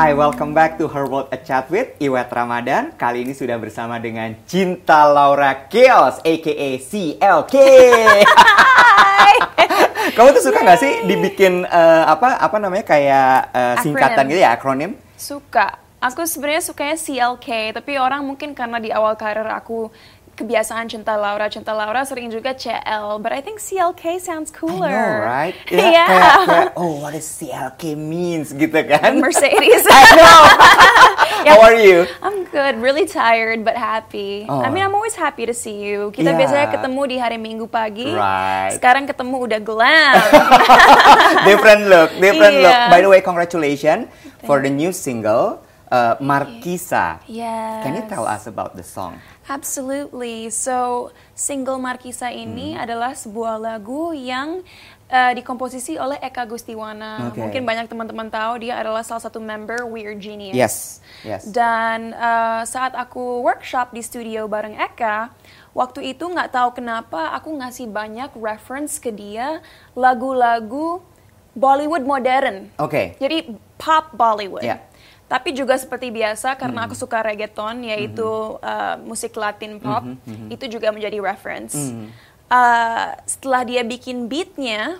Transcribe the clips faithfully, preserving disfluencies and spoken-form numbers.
Hai, welcome back to Her World A Chat with Iwet Ramadan. Kali ini sudah bersama dengan Cinta Laura Chaos, aka C L K. Hai. Kamu tuh suka nggak sih dibikin uh, apa apa namanya kayak uh, singkatan gitu ya, akronim? Suka. Aku sebenarnya sukanya C L K, tapi orang mungkin karena di awal karir aku kebiasaan Cinta Laura, Cinta Laura sering juga C L, but I think C L K sounds cooler. I know, right? Yeah. yeah. Kayak, kayak, oh, what does C L K means gitu kan? Mercedes. I know. Yeah. How are you? I'm good, really tired but happy. Oh. I mean, I'm always happy to see you. Kita Yeah. biasanya ketemu di hari Minggu pagi. Right. Sekarang ketemu udah glam. Different look, different Yeah. look. By the way, congratulations for the new single, uh, Markisa. Yes. Can you tell us about the song? Absolutely. So, single Markisa ini hmm. adalah sebuah lagu yang uh, dikomposisi oleh Eka Gustiwana. Okay. Mungkin banyak teman-teman tahu dia adalah salah satu member Weird Genius. Yes, yes. Dan uh, saat aku workshop di studio bareng Eka, waktu itu nggak tahu kenapa aku ngasih banyak reference ke dia lagu-lagu Bollywood modern. Oke. Okay. Jadi pop Bollywood. Yeah. Tapi juga seperti biasa karena mm. aku suka reggaeton, yaitu mm-hmm. uh, musik Latin pop, mm-hmm, mm-hmm. itu juga menjadi reference. Mm. Uh, setelah dia bikin beatnya,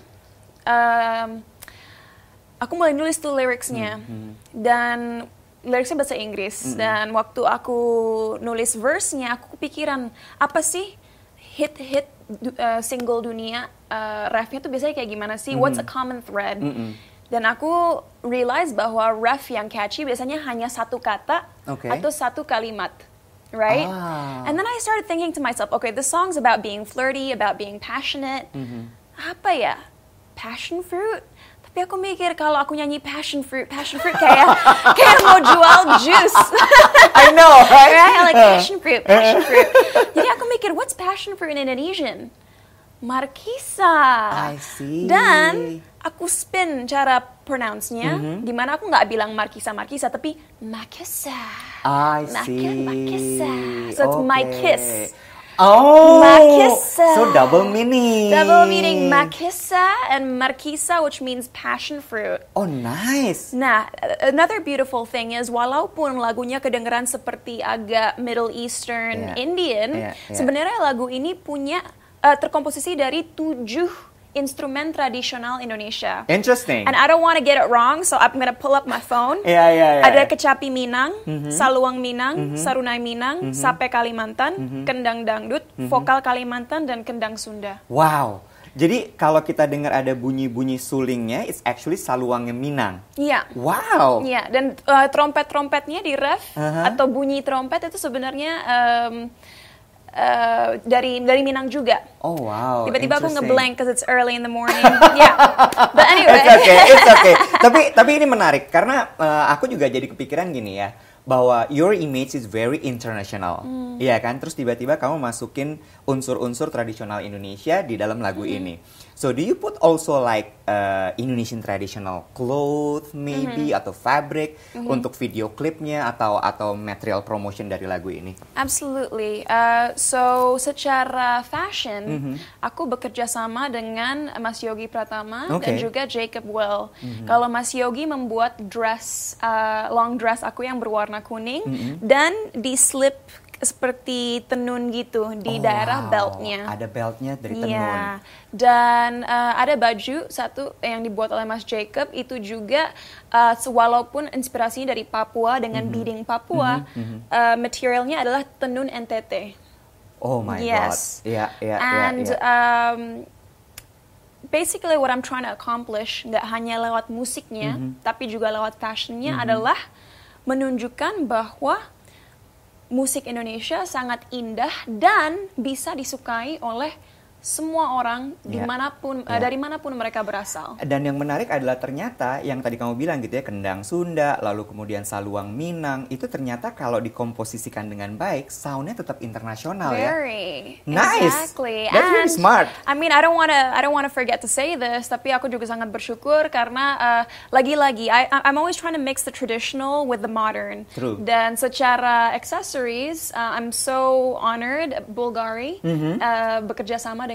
um, aku mulai nulis tuh lyricsnya, mm-hmm. dan lyricsnya bahasa Inggris. Mm-hmm. Dan waktu aku nulis verse-nya, aku kepikiran apa sih hit-hit uh, single dunia, uh, refnya tuh biasanya kayak gimana sih? Mm-hmm. What's a common thread? Mm-hmm. Dan aku realize bahwa ref yang catchy biasanya hanya satu kata okay. atau satu kalimat, right? Ah. And then I started thinking to myself, okay, this song's about being flirty, about being passionate. Mm-hmm. Apa ya? Passion fruit? Tapi aku mikir kalau aku nyanyi passion fruit, passion fruit kayak kayak mau jual juice. I know, right? Right? Like passion fruit, passion fruit. Jadi aku mikir, what's passion fruit in Indonesian? Markisa. I see. Dan aku spin cara pronounce-nya, mm-hmm. di mana aku nggak bilang Markisa Markisa, tapi Makisa. I see. Makisa. So it's okay. my kiss. Oh, Makisa. So double meaning. Double meaning Makisa and Markisa, which means passion fruit. Oh, nice. Nah, another beautiful thing is, walaupun lagunya kedengeran seperti agak Middle Eastern, yeah. Indian, yeah, yeah. sebenarnya lagu ini punya Uh, terkomposisi dari tujuh instrumen tradisional Indonesia. Interesting. And I don't want to get it wrong, so I'm gonna pull up my phone. Yeah, yeah, yeah. Ada kecapi Minang, mm-hmm. saluang Minang, mm-hmm. sarunai Minang, mm-hmm. sape Kalimantan, mm-hmm. kendang dangdut, mm-hmm. vokal Kalimantan, dan kendang Sunda. Wow. Jadi kalau kita dengar ada bunyi-bunyi sulingnya, it's actually saluangnya Minang. Iya. Yeah. Wow. Iya, yeah. Dan uh, trompet-trompetnya di ref uh-huh. atau bunyi trompet itu sebenarnya um, Uh, dari dari Minang juga. Oh wow. Tiba-tiba aku ngeblank because it's early in the morning. Yeah. But anyway. It's okay, it's okay. tapi tapi ini menarik karena uh, aku juga jadi kepikiran gini ya, bahwa your image is very international. Hmm. Iya kan? Terus tiba-tiba kamu masukin unsur-unsur tradisional Indonesia di dalam lagu hmm. ini. So do you put also like uh, Indonesian traditional clothes maybe mm-hmm. atau fabric mm-hmm. untuk video klipnya atau atau material promotion dari lagu ini? Absolutely. Uh, so secara fashion, mm-hmm. aku bekerja sama dengan Mas Yogi Pratama okay. dan juga Jacob Well. Mm-hmm. Kalau Mas Yogi membuat dress, uh, long dress aku yang berwarna kuning mm-hmm. dan di slip seperti tenun gitu di oh, daerah wow. beltnya. Ada beltnya dari tenun. Yeah. Dan uh, ada baju satu yang dibuat oleh Mas Jacob itu juga uh, walaupun inspirasinya dari Papua dengan mm-hmm. beading Papua, mm-hmm. uh, materialnya adalah tenun N T T. Oh my yes. god. Iya, iya, And iya. Um, basically what I'm trying to accomplish nggak hanya lewat musiknya, mm-hmm. tapi juga lewat fashionnya mm-hmm. adalah menunjukkan bahwa musik Indonesia sangat indah dan bisa disukai oleh semua orang yeah. dimanapun yeah. uh, dari manapun mereka berasal. Dan yang menarik adalah ternyata yang tadi kamu bilang gitu ya, kendang Sunda, lalu kemudian saluang Minang, itu ternyata kalau dikomposisikan dengan baik, soundnya tetap internasional ya. Very. Nice. Exactly. That's really smart. I mean, I don't want to I don't want to forget to say this, tapi aku juga sangat bersyukur karena uh, lagi-lagi I I'm always trying to mix the traditional with the modern. True. Dan secara accessories, uh, I'm so honored Bulgari mm-hmm. uh, bekerja sama dengan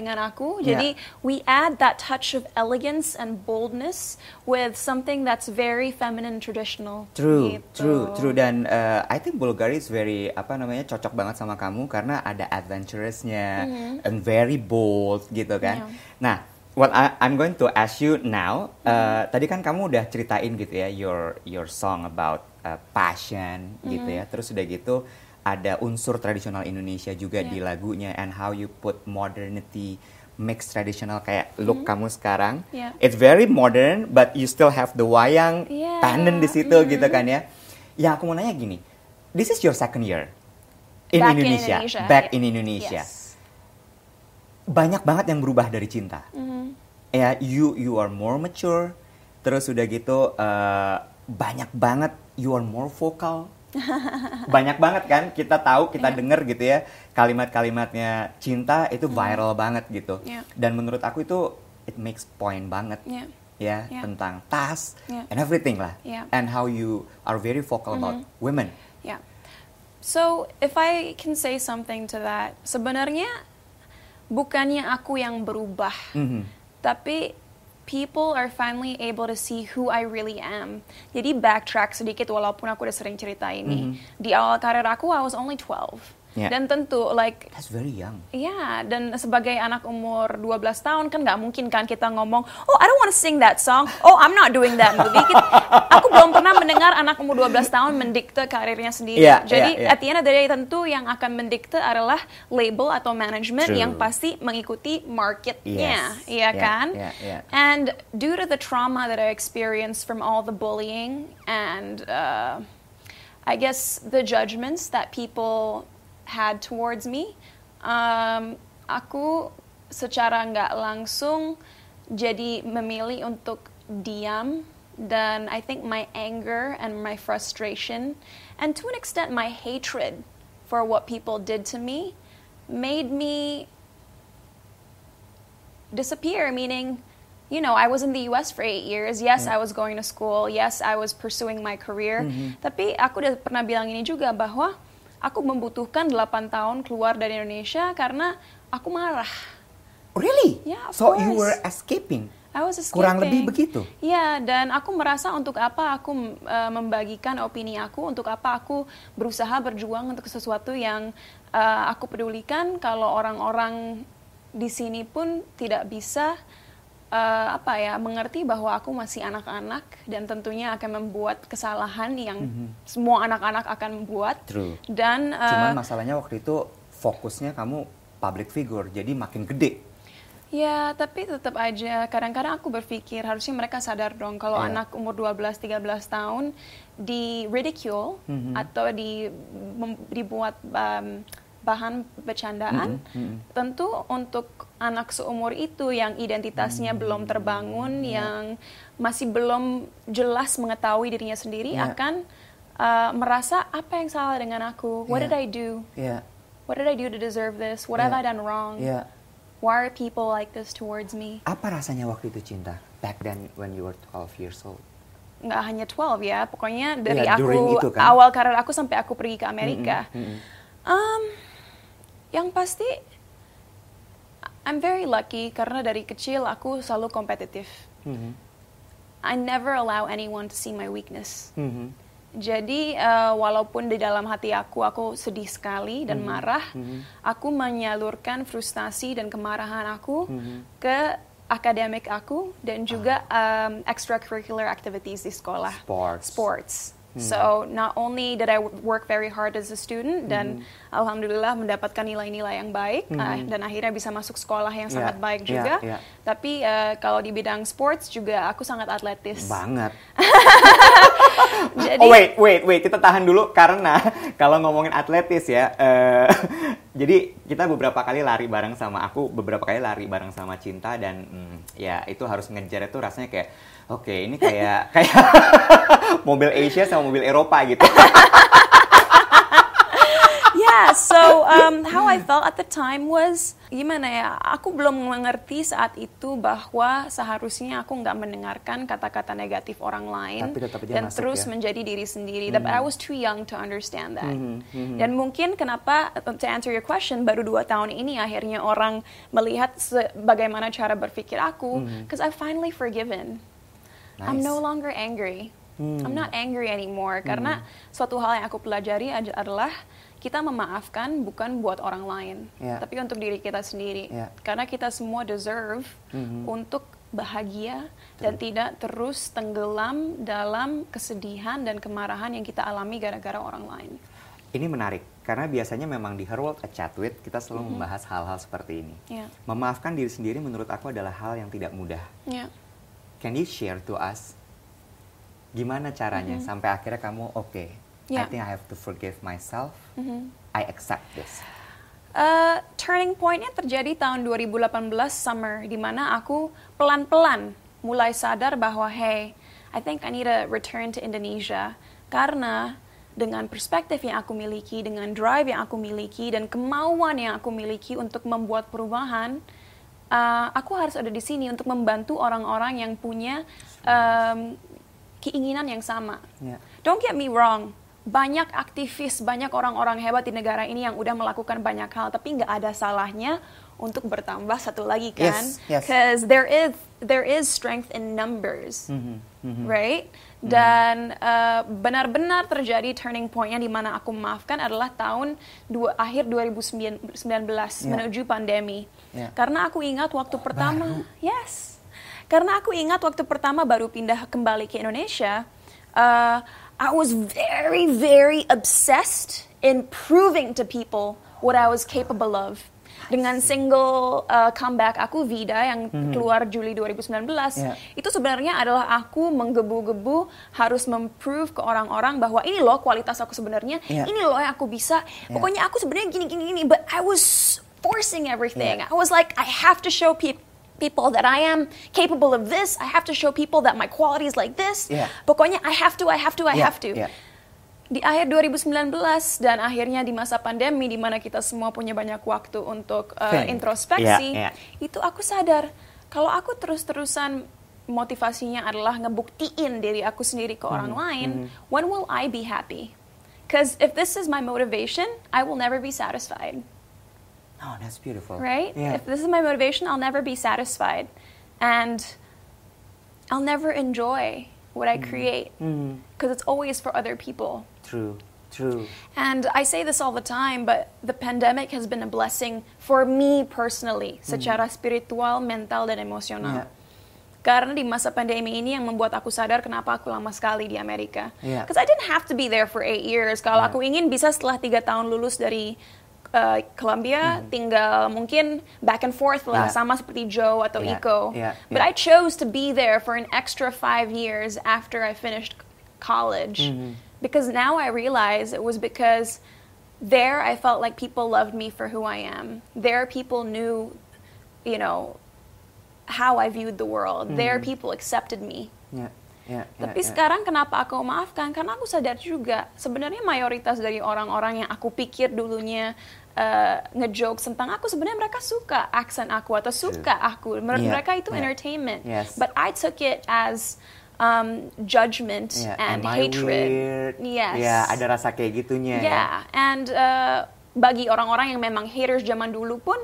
dengan aku. Jadi yeah. we add that touch of elegance and boldness with something that's very feminine traditional. True, gitu. true, true. Dan uh, I think Bulgari is very apa namanya cocok banget sama kamu karena ada adventurousnya mm-hmm. and very bold gitu kan. Yeah. Nah, what I, I'm going to ask you now, uh, mm-hmm. tadi kan kamu udah ceritain gitu ya your your song about uh, passion mm-hmm. gitu ya. Terus udah gitu ada unsur tradisional Indonesia juga yeah. di lagunya and how you put modernity mix tradisional kayak look mm-hmm. kamu sekarang. Yeah. It's very modern but you still have the wayang yeah. pendant di situ mm-hmm. gitu kan ya. Ya aku mau nanya gini. This is your second year in Back Indonesia. in Indonesia. Back yeah. in Indonesia. Yes. Banyak banget yang berubah dari Cinta. Mm-hmm. Ya, you you are more mature. Terus udah gitu uh, banyak banget you are more vocal. Banyak banget kan kita tahu kita yeah. denger gitu ya kalimat-kalimatnya Cinta itu viral mm. banget gitu yeah. dan menurut aku itu it makes point banget yeah. ya yeah. tentang tas yeah. and everything lah yeah. and how you are very vocal mm-hmm. about women. Yeah. So if I can say something to that, sebenarnya bukannya aku yang berubah, mm-hmm. tapi people are finally able to see who I really am. Jadi backtrack sedikit walaupun aku udah sering cerita ini. Mm-hmm. Di awal karir aku, I was only twelve. Yeah. Dan tentu, like... That's very young. Yeah, dan sebagai anak umur dua belas tahun, kan nggak mungkin kan kita ngomong, oh, I don't want to sing that song. Oh, I'm not doing that movie. Kita, aku belum pernah mendengar anak umur dua belas tahun mendikte karirnya sendiri. Yeah, Jadi, yeah, yeah. at the end of the day, tentu yang akan mendikte adalah label atau management True. Yang pasti mengikuti marketnya. Yes. Iya yeah, kan? Yeah, yeah. And due to the trauma that I experienced from all the bullying and, uh, I guess, the judgments that people... had towards me, um, aku secara nggak langsung jadi memilih untuk diam dan I think my anger and my frustration and to an extent my hatred for what people did to me made me disappear, meaning, you know, I was in the U S for eight years. Yes, mm. I was going to school. Yes, I was pursuing my career. Mm-hmm. Tapi aku udah pernah bilang ini juga bahwa aku membutuhkan delapan tahun keluar dari Indonesia karena aku marah. Really? Yeah, of so course. you were escaping? I was escaping. Kurang lebih begitu? Ya, dan aku merasa untuk apa aku uh, membagikan opini aku, untuk apa aku berusaha berjuang untuk sesuatu yang uh, aku pedulikan kalau orang-orang di sini pun tidak bisa Uh, apa ya mengerti bahwa aku masih anak-anak dan tentunya akan membuat kesalahan yang mm-hmm. semua anak-anak akan membuat. True. Dan uh, cuman masalahnya waktu itu fokusnya kamu public figure jadi makin gede. Ya, tapi tetap aja kadang-kadang aku berpikir harusnya mereka sadar dong kalau yeah. anak umur dua belas tiga belas tahun di ridicule mm-hmm. atau di mem, dibuat um, bahan bercandaan, mm-hmm, mm-hmm. tentu untuk anak seumur itu yang identitasnya mm-hmm. belum terbangun, yeah. yang masih belum jelas mengetahui dirinya sendiri, yeah. akan uh, merasa apa yang salah dengan aku? What yeah. did I do? Yeah. What did I do to deserve this? What yeah. have I done wrong? Yeah. Why are people like this towards me? Apa rasanya waktu itu Cinta? Back then when you were twelve years old? Nggak hanya twelve ya, pokoknya dari yeah, aku itu, kan? awal karir aku sampai aku pergi ke Amerika. Mm-hmm, mm-hmm. Um, Yang pasti, I'm very lucky karena dari kecil aku selalu kompetitif. Mm-hmm. I never allow anyone to see my weakness. Mm-hmm. Jadi uh, walaupun di dalam hati aku aku sedih sekali dan mm-hmm. marah, mm-hmm. aku menyalurkan frustasi dan kemarahan aku mm-hmm. ke akademik aku dan juga uh. um, extracurricular activities di sekolah. Sports. Sports. Hmm. So not only did I work very hard as a student dan hmm. alhamdulillah mendapatkan nilai-nilai yang baik hmm. uh, dan akhirnya bisa masuk sekolah yang yeah. sangat baik juga. Yeah, yeah. Tapi uh, kalau di bidang sports juga aku sangat atletis. Banget. Jadi, oh wait, wait, wait, kita tahan dulu karena kalau ngomongin atletis ya, uh, jadi kita beberapa kali lari bareng sama aku, beberapa kali lari bareng sama Cinta dan mm, ya itu harus ngejar itu rasanya kayak oke okay, ini kayak kayak mobil Asia sama mobil Eropa gitu. Ya, so um, how I felt at the time was gimana ya? Aku belum mengerti saat itu bahwa seharusnya aku nggak mendengarkan kata-kata negatif orang lain dan masuk, terus ya? menjadi diri sendiri. Mm-hmm. But I was too young to understand that. Mm-hmm. Mm-hmm. Dan mungkin kenapa, to answer your question, baru dua tahun ini akhirnya orang melihat bagaimana cara berpikir aku, because mm-hmm. I've finally forgiven. Nice. I'm no longer angry. Hmm. I'm not angry anymore, hmm. karena suatu hal yang aku pelajari adalah kita memaafkan bukan buat orang lain, yeah. tapi untuk diri kita sendiri. Yeah. Karena kita semua deserve hmm. untuk bahagia True. dan tidak terus tenggelam dalam kesedihan dan kemarahan yang kita alami gara-gara orang lain. Ini menarik, karena biasanya memang di Her World A Chat With kita selalu mm-hmm. membahas hal-hal seperti ini. Yeah. Memaafkan diri sendiri menurut aku adalah hal yang tidak mudah. Yeah. Can you share to us gimana caranya mm-hmm. sampai akhirnya kamu oke, okay, yeah. I think I have to forgive myself, mm-hmm. I accept this. Uh, turning point-nya terjadi tahun dua ribu delapan belas summer, di mana aku pelan-pelan mulai sadar bahwa hey, I think I need to return to Indonesia, karena dengan perspektif yang aku miliki, dengan drive yang aku miliki, dan kemauan yang aku miliki untuk membuat perubahan, uh, aku harus ada di sini untuk membantu orang-orang yang punya um, keinginan yang sama. Yeah. Don't get me wrong, banyak aktivis, banyak orang-orang hebat di negara ini yang udah melakukan banyak hal, tapi nggak ada salahnya untuk bertambah satu lagi kan? Because yes, yes. there is there is strength in numbers, mm-hmm. Mm-hmm. right? Mm-hmm. Dan uh, benar-benar terjadi turning point-nya di mana aku memaafkan adalah tahun dua, akhir dua ribu sembilan belas yeah. menuju pandemi. Yeah. Karena aku ingat waktu pertama, Baru. yes. Karena aku ingat waktu pertama baru pindah kembali ke Indonesia, uh, I was very, very obsessed in proving to people what I was capable of. Dengan single uh, comeback aku, Vida, yang mm-hmm. keluar Juli dua ribu sembilan belas, yeah. itu sebenarnya adalah aku menggebu-gebu harus memprove ke orang-orang bahwa ini loh kualitas aku sebenarnya, yeah. ini loh yang aku bisa. Yeah. Pokoknya aku sebenarnya gini-gini-gini, but I was forcing everything. Yeah. I was like, I have to show people. people that I am capable of this. I have to show people that my quality is like this. Yeah. Pokoknya I have to, I have to, I yeah. have to. Yeah. Di akhir dua ribu sembilan belas dan akhirnya di masa pandemi di mana kita semua punya banyak waktu untuk uh, introspeksi, yeah. Yeah. itu aku sadar kalau aku terus-terusan motivasinya adalah ngebuktiin diri aku sendiri ke orang mm-hmm. lain, mm-hmm. when will I be happy? Because if this is my motivation, I will never be satisfied. Oh, that's beautiful. Right? Yeah. If this is my motivation, I'll never be satisfied. And I'll never enjoy what I mm. create. Because mm. it's always for other people. True, true. And I say this all the time, but the pandemic has been a blessing for me personally. Mm. Secara spiritual, mental, dan emosional. Yeah. Karena di masa pandemi ini yang membuat aku sadar kenapa aku lama sekali di Amerika. Because yeah. I didn't have to be there for eight years. Kalau yeah. aku ingin bisa setelah tiga tahun lulus dari Uh, Columbia, mm-hmm. tinggal mungkin back and forth lah, yeah. sama seperti Joe atau yeah. Iko. Yeah. But yeah. I chose to be there for an extra five years after I finished college. Mm-hmm. Because now I realize it was because there I felt like people loved me for who I am. There people knew, you know, how I viewed the world. Mm-hmm. There people accepted me. Yeah. Yeah, yeah, Tapi yeah. sekarang kenapa aku maafkan? Karena aku sadar juga sebenarnya mayoritas dari orang-orang yang aku pikir dulunya uh, ngejokes tentang aku, sebenarnya mereka suka aksen aku atau suka aku. Menurut yeah, mereka itu yeah. entertainment. Yes. But I took it as um, judgment yeah. and Am hatred. I weird? Yes. Ya, yeah, ada rasa kayak gitunya. Yeah, ya. and uh, bagi orang-orang yang memang haters zaman dulu pun,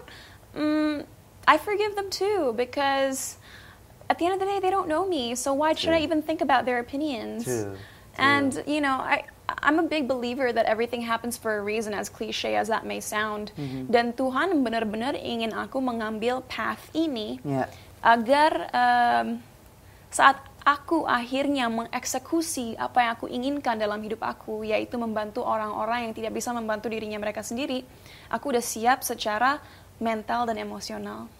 um, I forgive them too because at the end of the day, they don't know me, so why should True. I even think about their opinions? True. True. And, you know, I, I'm a big believer that everything happens for a reason, as cliche as that may sound. Mm-hmm. Dan Tuhan benar-benar ingin aku mengambil path ini yeah. agar um, saat aku akhirnya mengeksekusi apa yang aku inginkan dalam hidup aku, yaitu membantu orang-orang yang tidak bisa membantu dirinya mereka sendiri, aku udah siap secara mental dan emosional.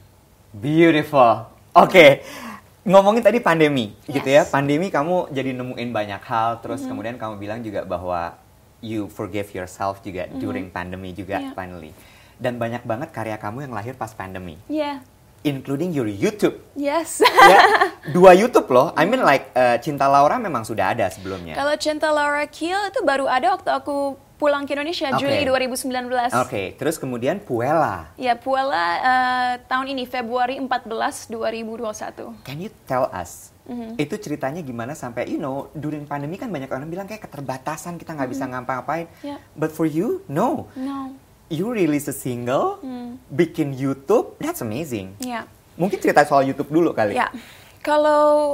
Beautiful. Oke, okay. Ngomongin tadi pandemi, yes. gitu ya. Pandemi kamu jadi nemuin banyak hal, terus mm-hmm. kemudian kamu bilang juga bahwa you forgive yourself juga mm-hmm. during pandemi juga yeah. finally. Dan banyak banget karya kamu yang lahir pas pandemi. Yeah. Including your YouTube. Yes. Ya, dua YouTube loh. I mean like uh, Cinta Laura memang sudah ada sebelumnya. Kalau Cinta Laura Kiel itu baru ada waktu aku pulang ke Indonesia Okay. Juli dua ribu sembilan belas. Oke, okay. Terus kemudian Puella. Ya, Puella uh, tahun ini Februari empat belas dua ribu dua puluh satu. Can you tell us? Mm-hmm. Itu ceritanya gimana sampai, you know, during pandemi kan banyak orang bilang kayak keterbatasan, kita nggak mm-hmm. bisa ngapa-ngapain. Yeah. But for you, no. No. You release a single, mm. bikin YouTube, that's amazing. Yeah. Mungkin cerita soal YouTube dulu kali. Ya, yeah. Kalau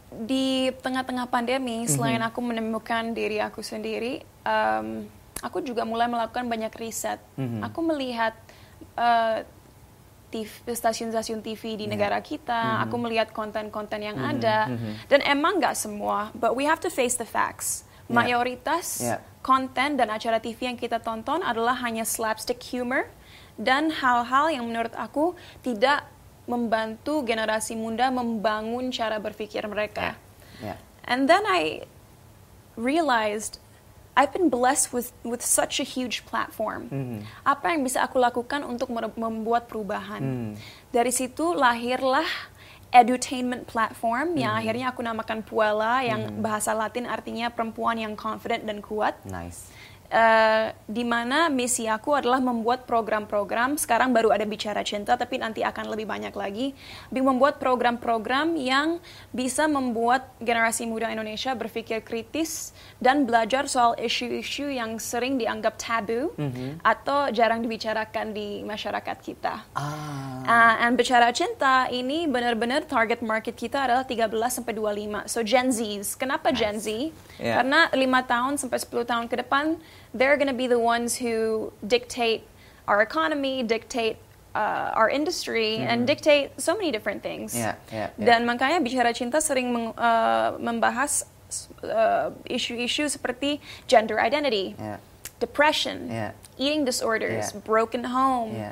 di tengah-tengah pandemi, selain mm-hmm. aku menemukan diri aku sendiri, um, aku juga mulai melakukan banyak riset. Mm-hmm. Aku melihat uh, T V, stasiun-stasiun T V di yeah. negara kita, mm-hmm. aku melihat konten-konten yang mm-hmm. ada, mm-hmm. dan emang nggak semua, but we have to face the facts. Yeah. Mayoritas yeah. konten dan acara T V yang kita tonton adalah hanya slapstick humor, dan hal-hal yang menurut aku tidak membantu generasi muda membangun cara berpikir mereka. Yeah. Yeah. And then I realized I've been blessed with with such a huge platform. Mm-hmm. Apa yang bisa aku lakukan untuk membuat perubahan? Mm. Dari situ lahirlah edutainment platform mm. yang akhirnya aku namakan Puella, yang mm. bahasa Latin artinya perempuan yang confident dan kuat. Nice. Uh, di mana misi aku adalah membuat program-program, sekarang baru ada Bicara Cinta, tapi nanti akan lebih banyak lagi, membuat program-program yang bisa membuat generasi muda Indonesia berpikir kritis dan belajar soal isu-isu yang sering dianggap tabu mm-hmm. atau jarang dibicarakan di masyarakat kita. Ah. Uh, and Bicara Cinta ini benar-benar target market kita adalah tiga belas sampai dua puluh lima, so Gen Zs. Kenapa nice. Gen Z? Yeah. Karena lima tahun sampai sepuluh tahun ke depan, they're going to be the ones who dictate our economy, dictate uh, our industry, mm. and dictate so many different things. Yeah, yeah, yeah. Dan makanya Bicara Cinta sering meng, uh, membahas uh, isu-isu seperti gender identity, yeah. depression, yeah. eating disorders, yeah. broken home, yeah.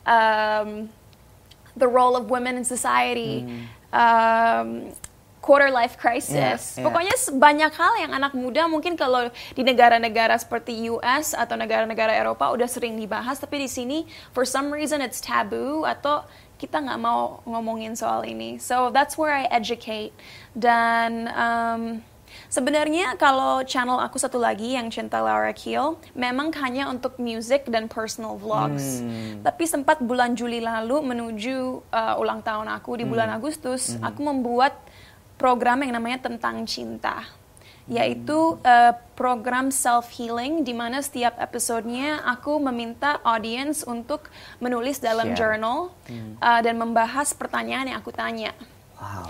um, the role of women in society, mm. um, quarter life crisis. Yeah, yeah. Pokoknya banyak hal yang anak muda mungkin kalau di negara-negara seperti U S atau negara-negara Eropa udah sering dibahas, tapi di sini for some reason it's taboo atau kita nggak mau ngomongin soal ini. So that's where I educate. Dan um, sebenarnya kalau channel aku satu lagi yang Cinta Laura Kiel memang hanya untuk music dan personal vlogs. Hmm. Tapi sempat bulan Juli lalu menuju uh, ulang tahun aku di bulan hmm. Agustus, hmm. aku membuat program yang namanya Tentang Cinta, yaitu uh, program self-healing di mana setiap episodenya aku meminta audience untuk menulis dalam Share. journal hmm. uh, dan membahas pertanyaan yang aku tanya. Wow.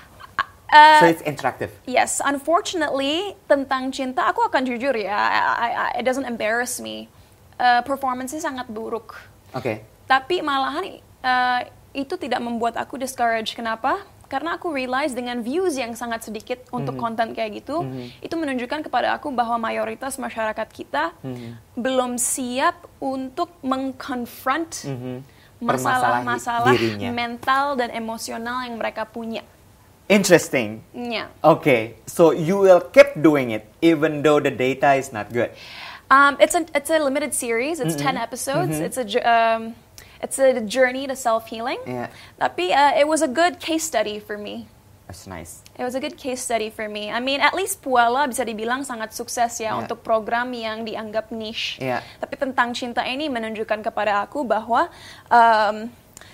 Uh, so it's interactive. Yes, unfortunately Tentang Cinta, aku akan jujur ya, I, I, it doesn't embarrass me. Uh, performance-nya sangat buruk. Oke. Okay. Tapi malahan uh, itu tidak membuat aku discourage. Kenapa? Karena aku realize dengan views yang sangat sedikit untuk mm-hmm. konten kayak gitu, mm-hmm. itu menunjukkan kepada aku bahwa mayoritas masyarakat kita mm-hmm. belum siap untuk mengkonfront mm-hmm. masalah-masalah mental dan emosional yang mereka punya. Interesting. Yeah. Okay, so you will keep doing it even though the data is not good. Um, it's a it's a limited series. It's mm-hmm. ten episodes. Mm-hmm. It's a um, It's a journey to self-healing. Yeah. Tapi uh, it was a good case study for me. That's nice. It was a good case study for me. I mean, at least Puella bisa dibilang sangat sukses ya yeah. untuk program yang dianggap niche. Yeah. Tapi Tentang Cinta ini menunjukkan kepada aku bahwa um,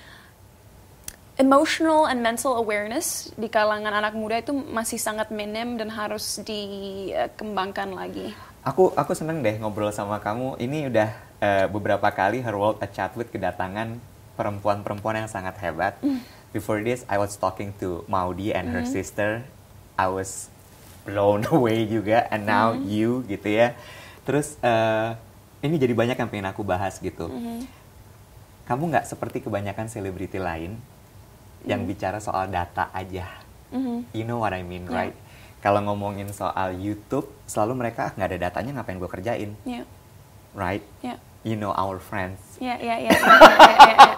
emotional and mental awareness di kalangan anak muda itu masih sangat minim dan harus dikembangkan lagi. Aku aku seneng deh ngobrol sama kamu. Ini udah uh, beberapa kali Her World at Chatwood kedatangan perempuan-perempuan yang sangat hebat. Mm. Before this, I was talking to Maudi and mm-hmm. her sister. I was blown away juga. And now mm-hmm. you gitu ya. Terus uh, ini jadi banyak yang pengen aku bahas gitu. Mm-hmm. Kamu nggak seperti kebanyakan selebriti lain mm-hmm. yang bicara soal data aja. Mm-hmm. You know what I mean, yeah. right? Kalau ngomongin soal YouTube, selalu mereka nggak ada datanya, ngapain gue kerjain, yeah. right? Yeah. You know our friends. Yeah, yeah, yeah. yeah, yeah, yeah, yeah.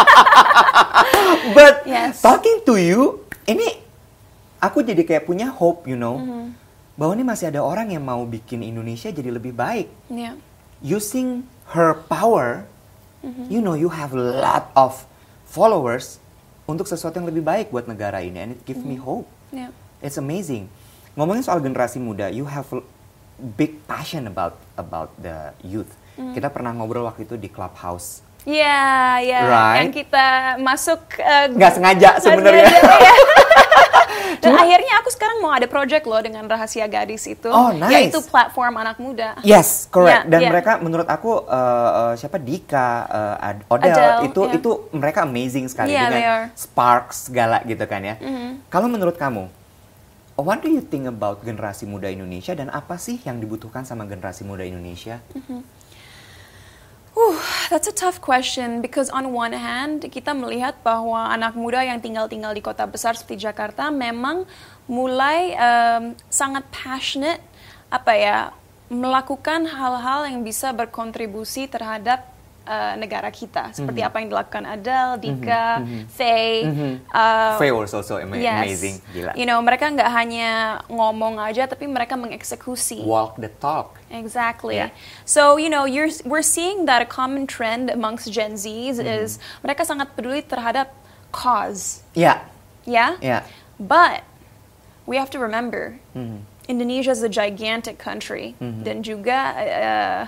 But yes. talking to you, ini aku jadi kayak punya hope, you know, mm-hmm. bahwa ini masih ada orang yang mau bikin Indonesia jadi lebih baik. Yeah. Using her power, mm-hmm. you know, you have a lot of followers untuk sesuatu yang lebih baik buat negara ini, and it gives mm-hmm. me hope. Yeah. It's amazing. Ngomongin soal generasi muda, you have big passion about about the youth. Mm. Kita pernah ngobrol waktu itu di Clubhouse. Iya, yeah, iya. Yeah. Right? Yang kita masuk uh, nggak sengaja sebenarnya. Dan Cuma, akhirnya aku sekarang mau ada project loh dengan Rahasia Gadis itu, oh, nice. Yaitu platform anak muda. Yes, correct. Yeah, Dan yeah. mereka menurut aku uh, uh, siapa Dika, uh, Odell, Adele, itu yeah. itu mereka amazing sekali yeah, dengan sparks segala gitu kan ya. Mm-hmm. Kalau menurut kamu, what do you think about generasi muda Indonesia dan apa sih yang dibutuhkan sama generasi muda Indonesia? Mm-hmm. Uh, that's a tough question because on one hand kita melihat bahwa anak muda yang tinggal-tinggal di kota besar seperti Jakarta memang mulai um, sangat passionate apa ya melakukan hal-hal yang bisa berkontribusi terhadap uh, negara kita seperti mm-hmm. apa yang dilakukan Adele, Dika, mm-hmm. Faye. Mm-hmm. Uh, Faye was also ama- yes. amazing, gila. You know mereka nggak hanya ngomong aja tapi mereka mengeksekusi. Walk the talk. Exactly. Yeah. So, you know, you're, we're seeing that a common trend amongst Gen Zs mm-hmm. is mereka sangat peduli terhadap cause. Yeah. Yeah? Yeah. But we have to remember, mm-hmm. Indonesia is a gigantic country mm-hmm. dan juga uh,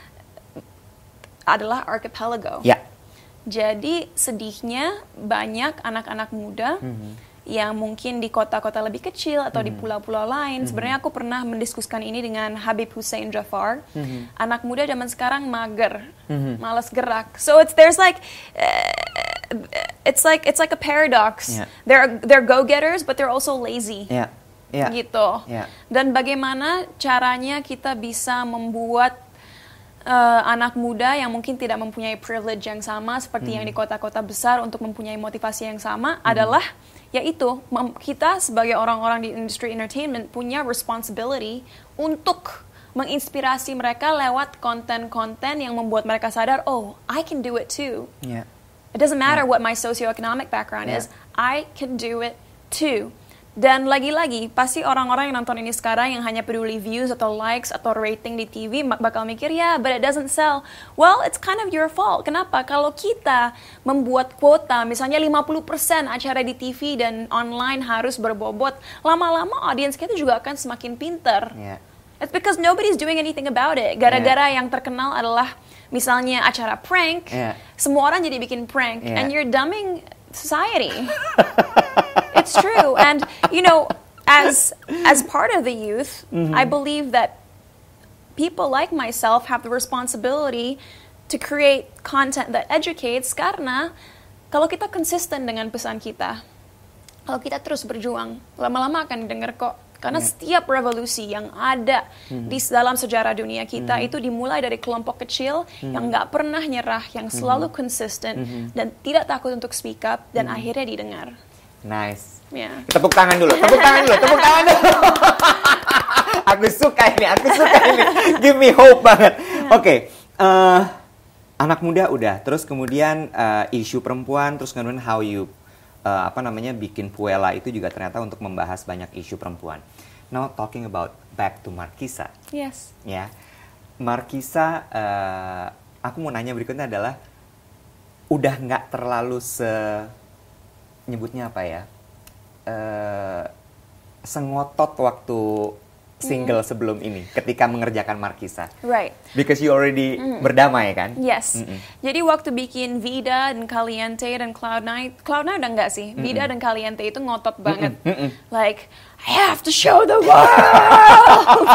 adalah archipelago. Yeah. Jadi sedihnya banyak anak-anak muda mm-hmm. yang mungkin di kota-kota lebih kecil atau mm-hmm. di pulau-pulau lain. Mm-hmm. Sebenarnya aku pernah mendiskusikan ini dengan Habib Hussein Jafar. Mm-hmm. Anak muda zaman sekarang mager, mm-hmm. malas gerak. So it's there's like uh, it's like it's like a paradox. Yeah. They're they're go-getters but they're also lazy. Yeah. Yeah. Gitu. Yeah. Dan bagaimana caranya kita bisa membuat Uh, anak muda yang mungkin tidak mempunyai privilege yang sama seperti mm-hmm. yang di kota-kota besar untuk mempunyai motivasi yang sama mm-hmm. adalah yaitu mem- kita sebagai orang-orang di industri entertainment punya responsibility untuk menginspirasi mereka lewat konten-konten yang membuat mereka sadar, oh, I can do it too. Yeah. It doesn't matter yeah. what my socioeconomic background yeah. is, I can do it too. Dan lagi-lagi, pasti orang-orang yang nonton ini sekarang yang hanya peduli views atau likes atau rating di T V bakal mikir, ya, yeah, but it doesn't sell. Well, it's kind of your fault. Kenapa? Kalau kita membuat kuota, misalnya lima puluh persen acara di T V dan online harus berbobot, lama-lama audiens kita juga akan semakin pinter. Yeah. It's because nobody's doing anything about it. Gara-gara yeah. yang terkenal adalah misalnya acara prank, yeah. semua orang jadi bikin prank, yeah. and you're dumbing society. It's true, and you know, as as part of the youth, mm-hmm. I believe that people like myself have the responsibility to create content that educates. Karena kalau kita konsisten dengan pesan kita, kalau kita terus berjuang, lama-lama akan didengar kok. Karena yeah. setiap revolusi yang ada mm-hmm. di dalam sejarah dunia kita mm-hmm. itu dimulai dari kelompok kecil mm-hmm. yang nggak pernah nyerah, yang selalu mm-hmm. konsisten mm-hmm. dan tidak takut untuk speak up dan mm-hmm. akhirnya didengar. Nice. Yeah. Tepuk tangan dulu, tepuk tangan dulu, tepuk tangan dulu. Aku suka ini, aku suka ini. Give me hope banget. Yeah. Oke, okay. uh, anak muda udah, terus kemudian uh, isu perempuan, terus kemudian how you uh, apa namanya bikin Puella itu juga ternyata untuk membahas banyak isu perempuan. Now talking about back to Markisa. Yes. Ya, Markisa, uh, aku mau nanya berikutnya adalah udah nggak terlalu se nyebutnya apa ya, uh, sengotot waktu single mm. sebelum ini ketika mengerjakan Markisa. Right. Because you already mm. berdamai kan? Yes. Mm-mm. Jadi waktu bikin Vida dan Caliente dan Cloud Nine, Cloud Nine udah enggak sih? Mm-mm. Vida dan Caliente itu ngotot banget. Mm-mm. Like, I have to show the world.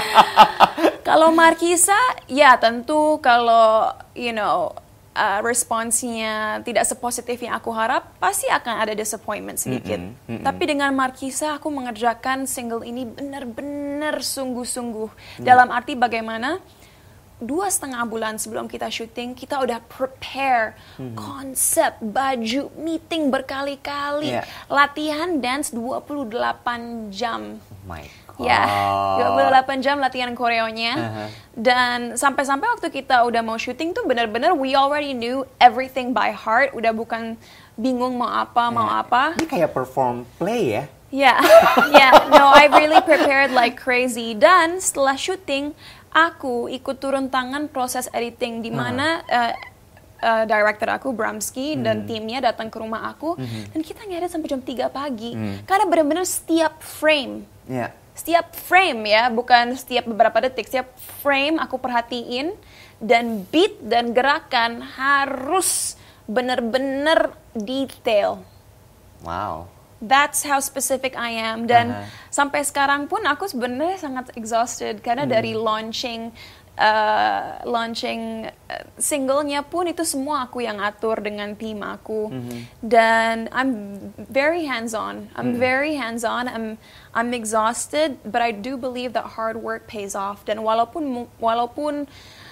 Kalau Markisa, ya tentu kalau, you know, Uh, responsnya tidak sepositif yang aku harap, pasti akan ada disappointment sedikit. Mm-mm, mm-mm. Tapi dengan Markisa, aku mengerjakan single ini benar-benar sungguh-sungguh. Mm. Dalam arti bagaimana dua setengah bulan sebelum kita syuting, kita udah prepare mm-hmm. konsep, baju, meeting berkali-kali, yeah. latihan dance dua puluh delapan jam. Oh my God. Ya, dua puluh delapan jam latihan koreonya. Uh-huh. Dan sampai-sampai waktu kita udah mau syuting tuh benar-benar we already knew everything by heart. Udah bukan bingung mau apa, mau yeah. apa. Ini kayak perform play ya? Yeah, yeah. No, I really prepared like crazy. Dan setelah syuting, aku ikut turun tangan proses editing di mana uh-huh. uh, uh, director aku Bramski hmm. dan timnya datang ke rumah aku hmm. dan kita ngedit sampai jam tiga pagi. Hmm. Karena benar-benar setiap frame. Yeah. setiap frame ya, bukan setiap beberapa detik, setiap frame aku perhatiin, dan beat dan gerakan harus benar-benar detail. Wow. That's how specific I am. Dan Uh-huh. sampai sekarang pun aku sebenarnya sangat exhausted karena hmm. dari launching Uh, launching uh, singlenya pun itu semua aku yang atur dengan tim aku. Mm-hmm. Dan I'm very hands-on. I'm mm. very hands-on. I'm I'm exhausted, but I do believe that hard work pays off. Dan walaupun walaupun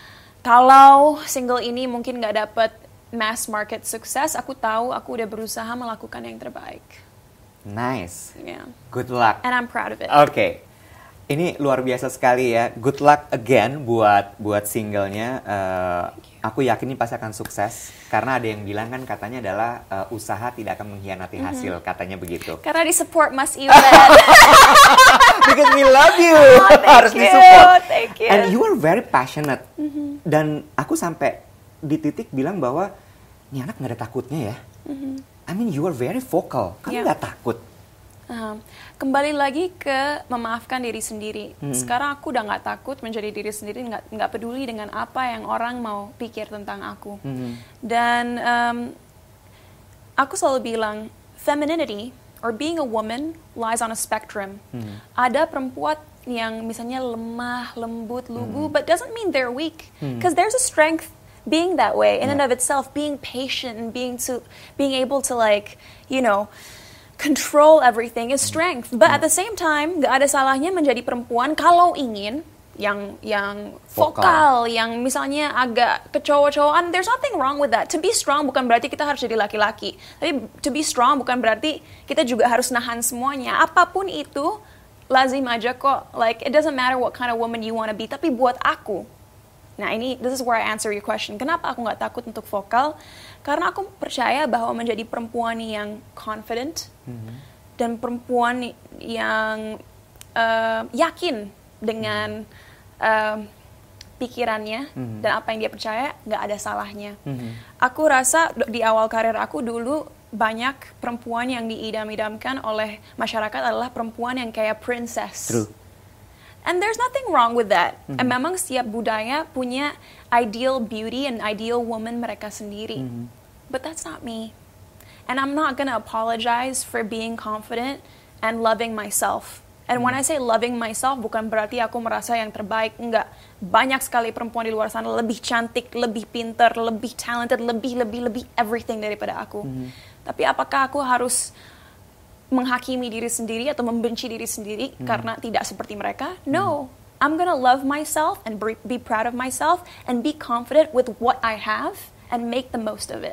kalau single ini mungkin nggak dapat mass market sukses, aku tahu aku udah berusaha melakukan yang terbaik. Nice. Yeah. Good luck. And I'm proud of it. Oke. Okay. Ini luar biasa sekali ya. Good luck again buat buat singlenya. Uh, aku yakin ini pasti akan sukses karena ada yang bilang kan katanya adalah uh, usaha tidak akan mengkhianati hasil, mm-hmm. katanya begitu. Karena di support Mas Iwan. Because we love you. Oh, Harus you. disupport. Thank you. And you are very passionate. Mm-hmm. Dan aku sampai di titik bilang bahwa ini anak nggak ada takutnya ya. Mm-hmm. I mean you are very vocal. Kamu nggak yeah. takut. Uh, kembali lagi ke memaafkan diri sendiri. Hmm. Sekarang aku udah nggak takut menjadi diri sendiri, nggak nggak peduli dengan apa yang orang mau pikir tentang aku. Hmm. Dan um, aku selalu bilang, femininity or being a woman lies on a spectrum. Hmm. Ada perempuan yang misalnya lemah, lembut, lugu, hmm. but doesn't mean they're weak, because hmm. there's a strength being that way in yeah. and of itself, being patient and being to being able to like, you know, control everything is strength. But at the same time, gak ada salahnya menjadi perempuan kalau ingin yang yang vokal, vokal yang misalnya agak kecowok-cowokan. There's nothing wrong with that. To be strong bukan berarti kita harus jadi laki-laki. Tapi to be strong bukan berarti kita juga harus nahan semuanya. Apapun itu lazim aja kok. Like it doesn't matter what kind of woman you want to be. Tapi buat aku, nah ini this is where I answer your question. Kenapa aku nggak takut untuk vokal? Karena aku percaya bahwa menjadi perempuan yang confident mm-hmm. dan perempuan yang uh, yakin dengan uh, pikirannya mm-hmm. dan apa yang dia percaya, nggak ada salahnya. Mm-hmm. Aku rasa di awal karir aku dulu banyak perempuan yang diidam-idamkan oleh masyarakat adalah perempuan yang kayak princess. True. And there's nothing wrong with that. Mm-hmm. And memang setiap budaya punya ideal beauty and ideal woman mereka sendiri. Mm-hmm. But that's not me. And I'm not gonna apologize for being confident and loving myself. And mm-hmm. when I say loving myself, bukan berarti aku merasa yang terbaik. Enggak. Banyak sekali perempuan di luar sana lebih cantik, lebih pintar, lebih talented, lebih, lebih, lebih everything daripada aku. Mm-hmm. Tapi apakah aku harus menghakimi diri sendiri atau membenci diri sendiri hmm. karena tidak seperti mereka? No. Hmm. I'm gonna love myself and be proud of myself and be confident with what I have and make the most of it.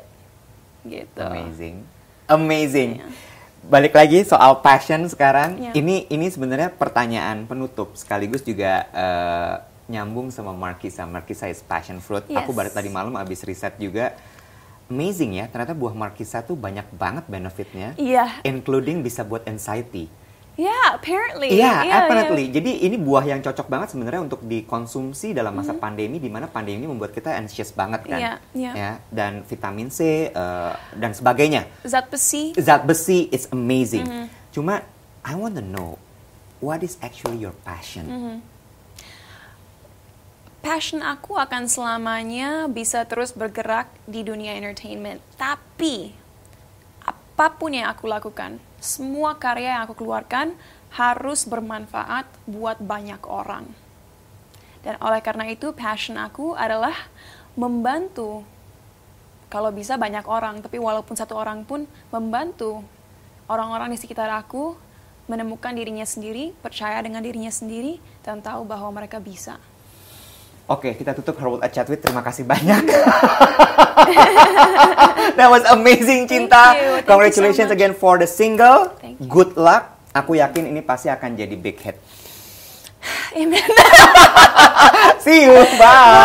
Gitu. Amazing. Amazing. Yeah. Balik lagi soal passion sekarang. Yeah. Ini ini sebenarnya pertanyaan penutup sekaligus juga uh, nyambung sama Markisa. Markisa is passion fruit. Yes. Aku baru tadi malam abis riset juga. Amazing ya, ternyata buah markisa tuh banyak banget benefitnya, yeah. including bisa buat anxiety. Yeah, apparently. Yeah, yeah apparently. Yeah. Jadi ini buah yang cocok banget sebenarnya untuk dikonsumsi dalam masa mm-hmm. pandemi, di mana pandemi membuat kita anxious banget kan, yeah, yeah. ya. Dan vitamin C uh, dan sebagainya. Zat besi. Zat besi is amazing. Mm-hmm. Cuma I want to know what is actually your passion. Mm-hmm. Passion aku akan selamanya bisa terus bergerak di dunia entertainment. Tapi, apapun yang aku lakukan, semua karya yang aku keluarkan harus bermanfaat buat banyak orang. Dan oleh karena itu, passion aku adalah membantu, kalau bisa banyak orang, tapi walaupun satu orang pun membantu orang-orang di sekitar aku menemukan dirinya sendiri, percaya dengan dirinya sendiri, dan tahu bahwa mereka bisa. Oke, kita tutup Her World at Chatwit. Terima kasih banyak. That was amazing, Cinta. Thank you. Thank Congratulations you so again for the single. Thank you. Good luck. Aku yakin ini pasti akan jadi big hit. Amen. See you. Bye.